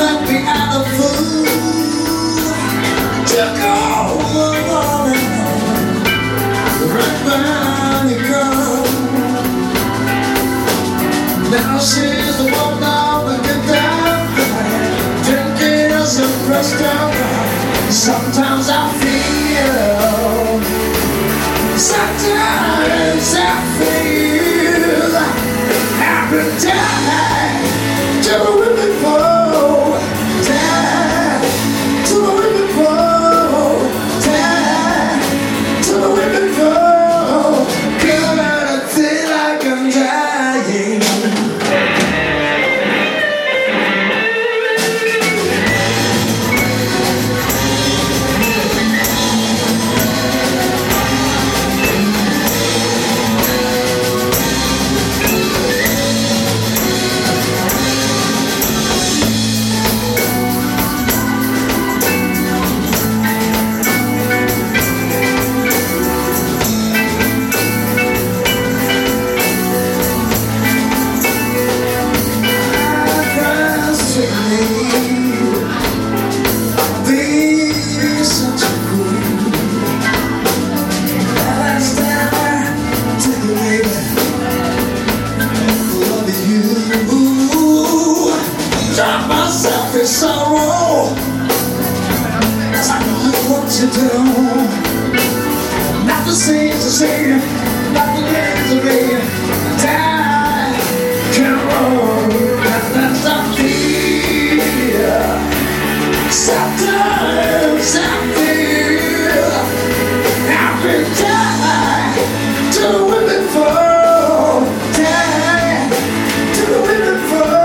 let me out of food. Took all the morning, right behind you come. Now she's the one down to get down. 10 years and pressed down. Sometimes I feel, sometimes I feel happy time to the women fall, time to the women fall, time to the women fall. Girl, I feel like I'm dying. Sorrow, that's not what you do. Not the same to say, not the way to be. Die, can roll, that's not fear. Sometimes I feel happy die to the women fall, die to the women fall.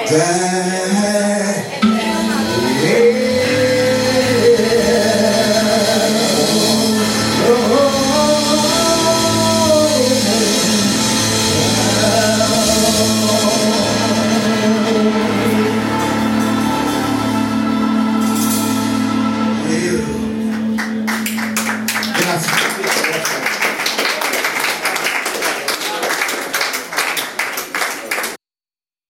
Dad.